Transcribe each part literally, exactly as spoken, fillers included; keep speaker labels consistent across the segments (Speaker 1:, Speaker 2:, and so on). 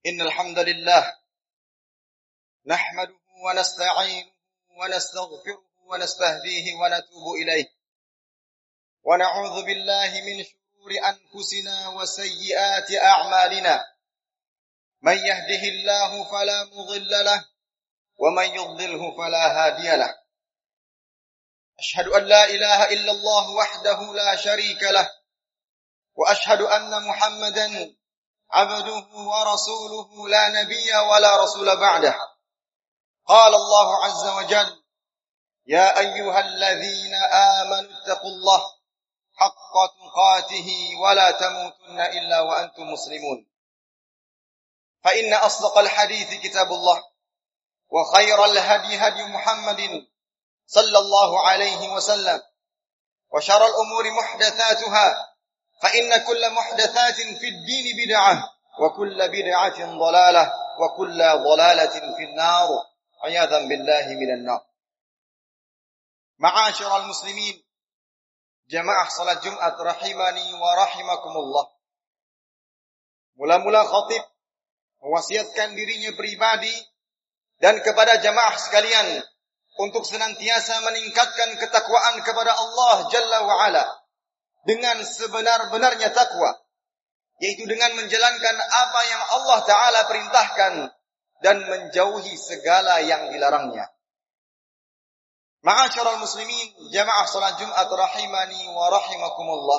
Speaker 1: إن الحمد لله نحمده ونستعينه ونستغفره ونستهديه ونتوب إليه ونعوذ بالله من شرور أنفسنا وسيئات أعمالنا من يهده الله فلا مضل له ومن يضلله فلا هادي له أشهد أن لا إله إلا الله وحده لا شريك له وأشهد أن محمدا عبده ورسوله لا نبي ولا رسول بعده قال الله عز وجل يا أيها الذين آمنوا اتقوا الله حق تقاته ولا تموتن إلا وأنتم مسلمون فإن أصدق الحديث كتاب الله وخير الهدي هدي محمد صلى الله عليه وسلم وشر الأمور محدثاتها فإن كل محدثات في الدين بدعة وكل بدعة ضلالة وكل ضلالة في النار عياذا بالله من النار. معاشر المسلمين jamaah salat Jumat rahimani wa rahimakumullah. Mula-mula khatib mewasiatkan dirinya pribadi dan kepada jamaah sekalian untuk senantiasa meningkatkan ketakwaan kepada Allah Jalla wa Ala dengan sebenar-benarnya takwa, yaitu dengan menjalankan apa yang Allah Ta'ala perintahkan dan menjauhi segala yang dilarangnya. Ma'asyiral muslimin, jamaah salat Jumat rahimani wa rahimakumullah.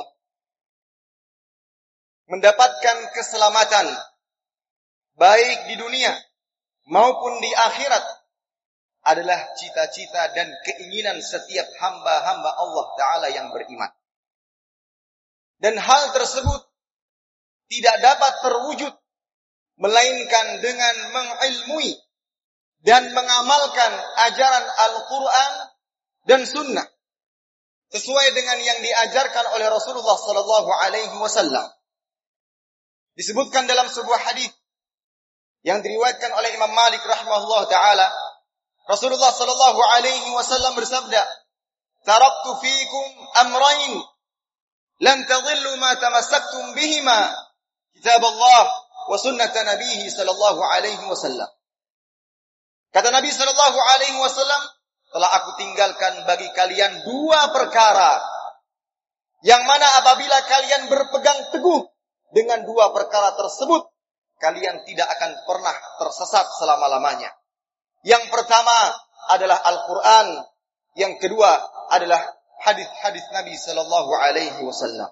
Speaker 1: Mendapatkan keselamatan baik di dunia maupun di akhirat adalah cita-cita dan keinginan setiap hamba-hamba Allah Ta'ala yang beriman. Dan hal tersebut tidak dapat terwujud melainkan dengan mengilmui dan mengamalkan ajaran Al-Quran dan Sunnah sesuai dengan yang diajarkan oleh Rasulullah Sallallahu Alaihi Wasallam. Disebutkan dalam sebuah hadis yang diriwayatkan oleh Imam Malik rahimahullah taala, Rasulullah Sallallahu Alaihi Wasallam bersabda, "Taraktu fiikum amrayn lan tadhillu ma tamassaktum bihima kitab Allah wa sunnat Nabihi sallallahu alaihi wasallam." Kata Nabi sallallahu alaihi wasallam, telah aku tinggalkan bagi kalian dua perkara yang mana apabila kalian berpegang teguh dengan dua perkara tersebut, kalian tidak akan pernah tersesat selama-lamanya. Yang pertama adalah Al-Quran, yang kedua adalah hadis-hadis Nabi sallallahu alaihi wasallam.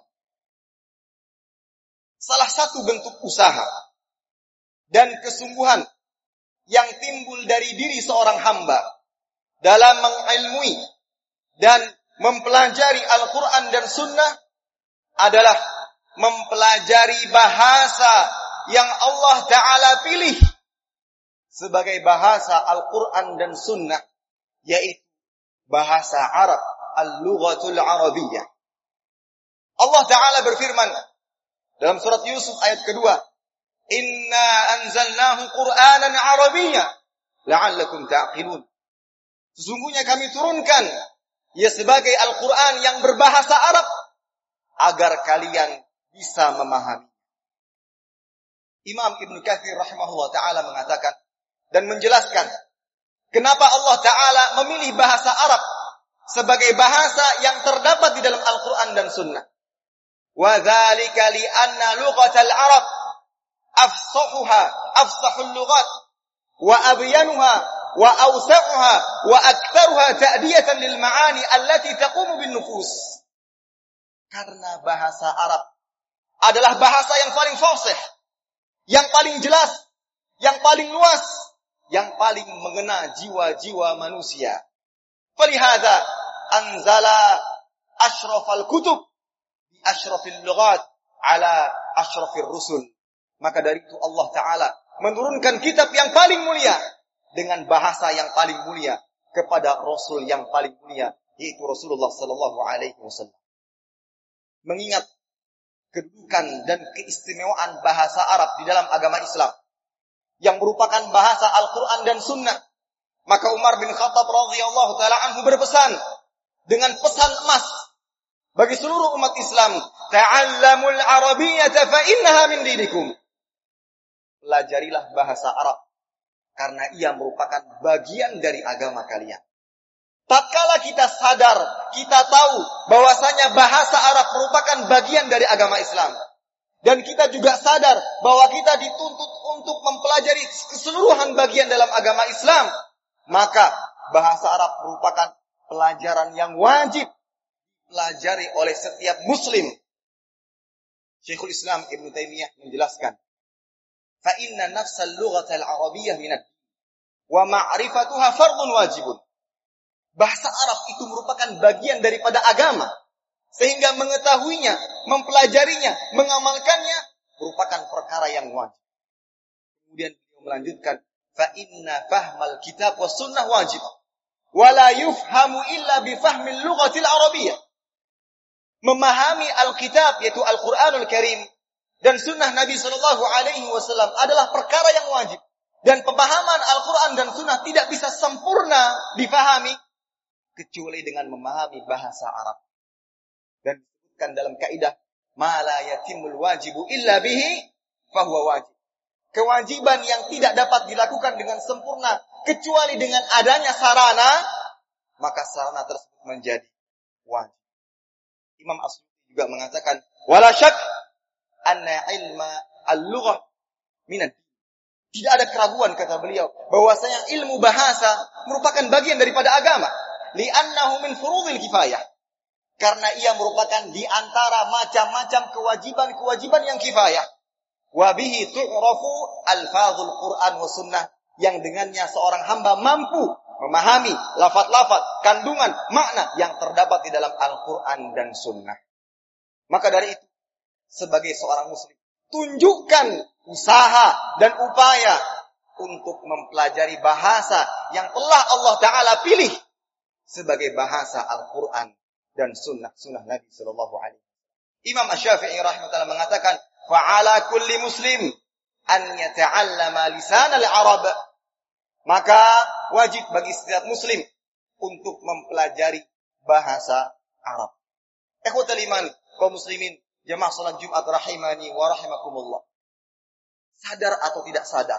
Speaker 1: Salah satu bentuk usaha dan kesungguhan yang timbul dari diri seorang hamba dalam mengilmui dan mempelajari Al-Quran dan Sunnah adalah mempelajari bahasa yang Allah Ta'ala pilih sebagai bahasa Al-Quran dan Sunnah, yaitu bahasa Arab, Al-Lughatul Arabiyyah. Allah Ta'ala berfirman dalam surat Yusuf ayat kedua, "Inna anzalnahu Qur'anan Arabiyya la'allakum ta'qilun." Sesungguhnya kami turunkan ia sebagai Al-Quran yang berbahasa Arab agar kalian bisa memahami. Imam Ibn Katsir rahimahullah ta'ala mengatakan dan menjelaskan kenapa Allah Ta'ala memilih bahasa Arab sebagai bahasa yang terdapat di dalam Al-Quran dan Sunnah. Wa dzalika li anna lughatal Arab afsahuha afsahul lughat wa abyanuha wa awsa'uha wa aktsaruha ta'diyatan lil ma'ani allati taqumu bin nufus. Karena bahasa Arab adalah bahasa yang paling fasih, yang paling jelas, yang paling luas, yang paling mengena jiwa-jiwa manusia. Falihada anzala asyrafal kutub bi asyrafil lughat ala asyrafir rusul. Maka dari itu Allah Ta'ala menurunkan kitab yang paling mulia dengan bahasa yang paling mulia kepada Rasul yang paling mulia, yaitu Rasulullah Sallallahu Alaihi Wasallam. Mengingat kedudukan dan keistimewaan bahasa Arab di dalam agama Islam yang merupakan bahasa Al-Quran dan Sunnah, maka Umar bin Khattab radhiyallahu taala anhu berpesan dengan pesan emas bagi seluruh umat Islam, "Ta'allamul Arabiyyata fa innaha min dinikum." pelajarilah bahasa Arab. Karena ia merupakan bagian dari agama kalian. Tatkala kita sadar, kita tahu bahwasanya bahasa Arab merupakan bagian dari agama Islam. Dan kita juga sadar bahwa kita dituntut untuk mempelajari keseluruhan bagian dalam agama Islam. Maka bahasa Arab merupakan pelajaran yang wajib dipelajari oleh setiap muslim. Syekhul Islam Ibnu Taimiyah menjelaskan, "Fa inna nafsal lughatal arabiyyah minad wa ma'rifatuha fardun wajibun." Bahasa Arab itu merupakan bagian daripada agama. Sehingga mengetahuinya, mempelajarinya, mengamalkannya merupakan perkara yang wajib. Kemudian beliau melanjutkan, fa inna fahmal kitab was sunnah wajib. Wa la yufhamu illa bi fahmil lughatil arabiyyah. Memahami Alkitab yaitu Al-Qur'anul Karim dan sunnah Nabi sallallahu alaihi wasallam adalah perkara yang wajib. Dan pemahaman Al-Qur'an dan sunnah tidak bisa sempurna difahami kecuali dengan memahami bahasa Arab. Dan disebutkan dalam kaidah ma la yatimul wajibu illa bihi fahuwa wajib. Kewajiban yang tidak dapat dilakukan dengan sempurna kecuali dengan adanya sarana, maka sarana tersebut menjadi wajib. Imam As-Suyuti juga mengatakan wala syak anna ilma al-lughah minad. Tidak ada keraguan kata beliau bahwasanya ilmu bahasa merupakan bagian daripada agama. Li'annahu min furudil kifayah. Karena ia merupakan di antara macam-macam kewajiban-kewajiban yang kifayah. Wa bihi tu'rafu alfazul Qur'an wa sunnah. Yang dengannya seorang hamba mampu memahami lafaz-lafaz, kandungan, makna yang terdapat di dalam Al-Quran dan sunnah. Maka dari itu, sebagai seorang muslim, tunjukkan usaha dan upaya untuk mempelajari bahasa yang telah Allah Ta'ala pilih sebagai bahasa Al-Quran dan sunnah-sunnah Nabi Sallallahu Alaihi Wasallam. Imam Asy-Syafi'i rahimahullah mengatakan, fa'ala kulli muslim an yata'allama lisan al-Arab. Maka wajib bagi setiap muslim untuk mempelajari bahasa Arab. Ikhwatul iman, kaum muslimin, jamaah salat Jumat rahimani wa rahimakumullah. Sadar atau tidak sadar,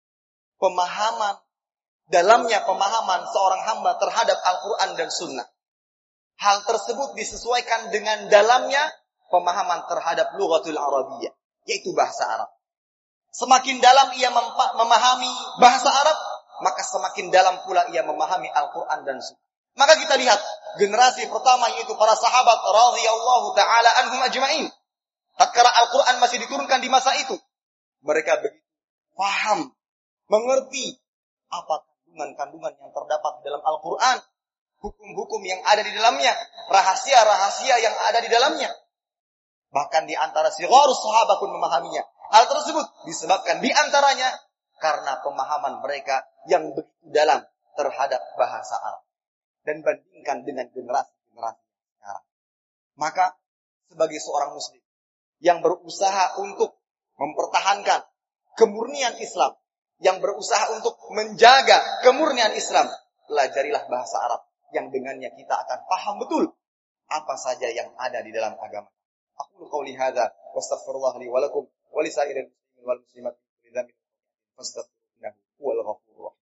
Speaker 1: pemahaman dalamnya pemahaman seorang hamba terhadap Al-Quran dan sunnah, hal tersebut disesuaikan dengan dalamnya pemahaman terhadap lughatul Arabiyyah, yaitu bahasa Arab. Semakin dalam ia memahami bahasa Arab, maka semakin dalam pula ia memahami Al-Quran dan sunnah. Maka kita lihat generasi pertama yaitu para sahabat radhiyallahu taala anhum ajma'in. Tatkala Al-Quran masih diturunkan di masa itu, mereka begitu paham, mengerti apa kandungan-kandungan yang terdapat di dalam Al-Quran, hukum-hukum yang ada di dalamnya, rahasia-rahasia yang ada di dalamnya. Bahkan di antara sigharus sahabat pun memahaminya. Hal tersebut disebabkan di antaranya karena pemahaman mereka yang begitu dalam terhadap bahasa Arab. Dan bandingkan dengan generasi-generasi sekarang. Maka sebagai seorang muslim yang berusaha untuk mempertahankan kemurnian Islam, yang berusaha untuk menjaga kemurnian Islam, pelajarilah bahasa Arab yang dengannya kita akan paham betul apa saja yang ada di dalam agama. Aqulu qouli hadza wa astaghfirullah li wa lakum wa li sa'iril muslimin wal muslimat min dzambin fastaghfiruhu huwal ghafurur rahim.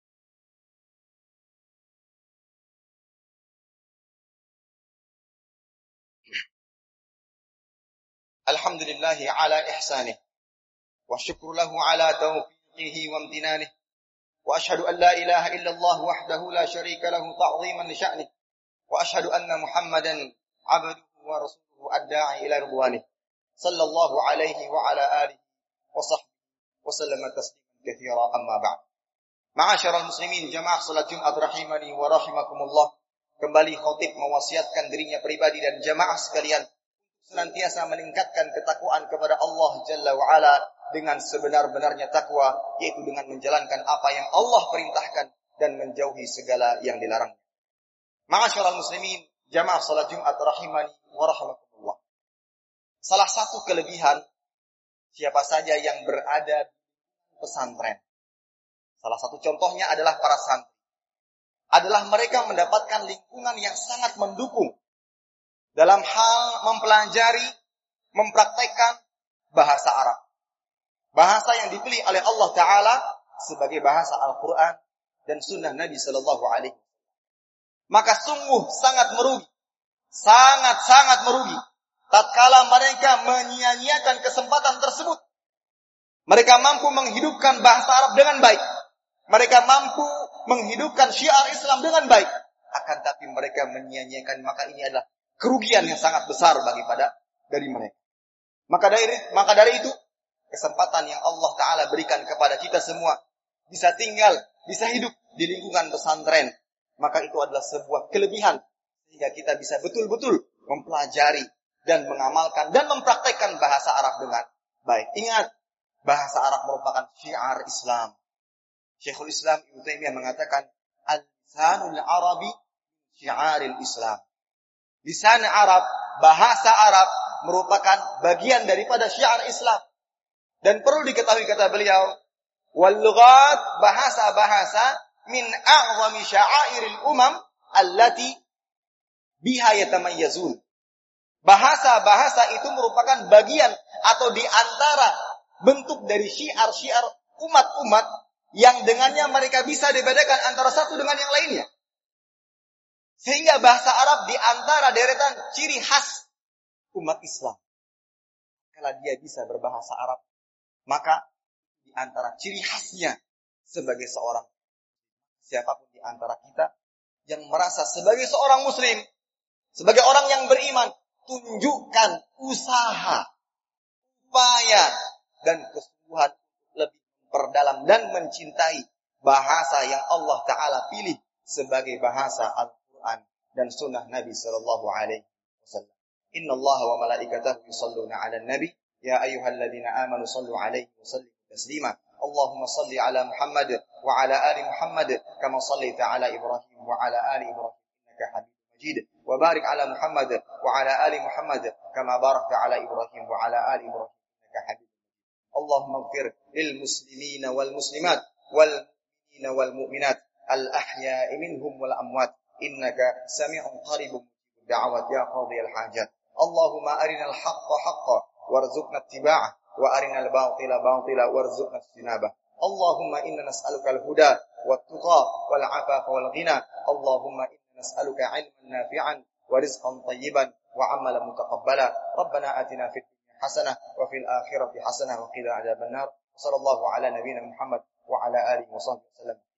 Speaker 1: Alhamdulillahi ala ihsanih wa syukru lahu ala taufiqihi wa amtinanih wa ashhadu an la ilaha illallah wahdahu la syarika lahu ta'ziman li sya'nih wa ashhadu anna Muhammadan 'abduhu wa rasuluhu ad-da'i ila ridwanih sallallahu alaihi wa ala alihi wa sahbihi wa sallama tasliman katsira amma ba'd. Ma'asyiral muslimin jamaah salat Jumat rahimani wa rahimakumullah. Kembali khatib mewasiatkan dirinya pribadi dan jamaah sekalian senantiasa meningkatkan ketakwaan kepada Allah Jalla wa Ala dengan sebenar-benarnya takwa, yaitu dengan menjalankan apa yang Allah perintahkan dan menjauhi segala yang dilarang. Ma'asyiral muslimin, jamaah salat Jumat rahimani wa rahimakumullah. Salah satu kelebihan siapa saja yang berada di pesantren, salah satu contohnya adalah para santri, adalah mereka mendapatkan lingkungan yang sangat mendukung dalam hal mempelajari, mempraktekkan bahasa Arab. Bahasa yang dipilih oleh Allah Ta'ala sebagai bahasa Al-Quran dan sunnah Nabi Sallallahu Alaihi Wasallam. Maka sungguh sangat merugi, sangat-sangat merugi tatkala mereka menyia-nyiakan kesempatan tersebut. Mereka mampu menghidupkan bahasa Arab dengan baik. Mereka mampu menghidupkan syiar Islam dengan baik. Akan tapi mereka menyia-nyiakan, maka ini adalah kerugian yang sangat besar bagi pada dari mereka. Maka dari maka dari itu kesempatan yang Allah Ta'ala berikan kepada kita semua bisa tinggal, bisa hidup di lingkungan pesantren, maka itu adalah sebuah kelebihan sehingga kita bisa betul-betul mempelajari dan mengamalkan dan mempraktekkan bahasa Arab dengan baik. Ingat, bahasa Arab merupakan syiar Islam. Syekhul Islam Ibnu Taimiyah mengatakan, al-lisanul Arabi syiaril Islam. Lisan Arab, bahasa Arab merupakan bagian daripada syiar Islam. Dan perlu diketahui kata beliau, wal lughat, bahasa-bahasa min a'zami sya'airil umam allati biha yatamayyazun. Bahasa-bahasa itu merupakan bagian atau di antara bentuk dari syiar-syiar umat-umat yang dengannya mereka bisa dibedakan antara satu dengan yang lainnya. Sehingga bahasa Arab di antara deretan ciri khas umat Islam. Kalau dia bisa berbahasa Arab, maka di antara ciri khasnya sebagai seorang, siapapun di antara kita yang merasa sebagai seorang muslim, sebagai orang yang beriman, tunjukkan usaha, upaya, dan kesungguhan lebih memperdalam dan mencintai bahasa yang Allah Ta'ala pilih sebagai bahasa Al-Quran dan sunnah Nabi Sallallahu Alaihi Wasallam. Inna Allah wa malaikatahu yusalluna ala nabi ya ayyuhalladzina amanu sallu alaihi wa sallimu taslima. Allahumma salli ala Muhammad wa ala ali Muhammad kama sallaita ala Ibrahim wa ala ali Ibrahim innaka Hamidum Majid. Wa barik ala Muhammad wa ala ali Muhammad kama barakta ala Ibrahim wa ala ali Ibrahim innaka Hamidum Majid. Allahumma ighfir lil muslimina wal muslimat wal mu'minina wal mu'minat al ahya'i minhum wal amwat innaka sami'un qaribun mujibud da'awat ya qadhiyal hajat. Allahumma arinal haqqa haqqa warzuqna ittiba'ah wa arinal batila batila warzuqna ijtinabah. Allahumma inna nas'aluka al-huda wat-tuqa wal 'afafa wal ghina. Allahumma inna nas'aluka 'ilman nafi'an wa rizqan tayyiban wa 'amalan mutaqabbala. Rabbana atina fid dunya hasanah wa fil akhirati hasanah wa qina adzabannar. Sallallahu ala nabiyyina Muhammad wa ala alihi wa sahbihi wasallam.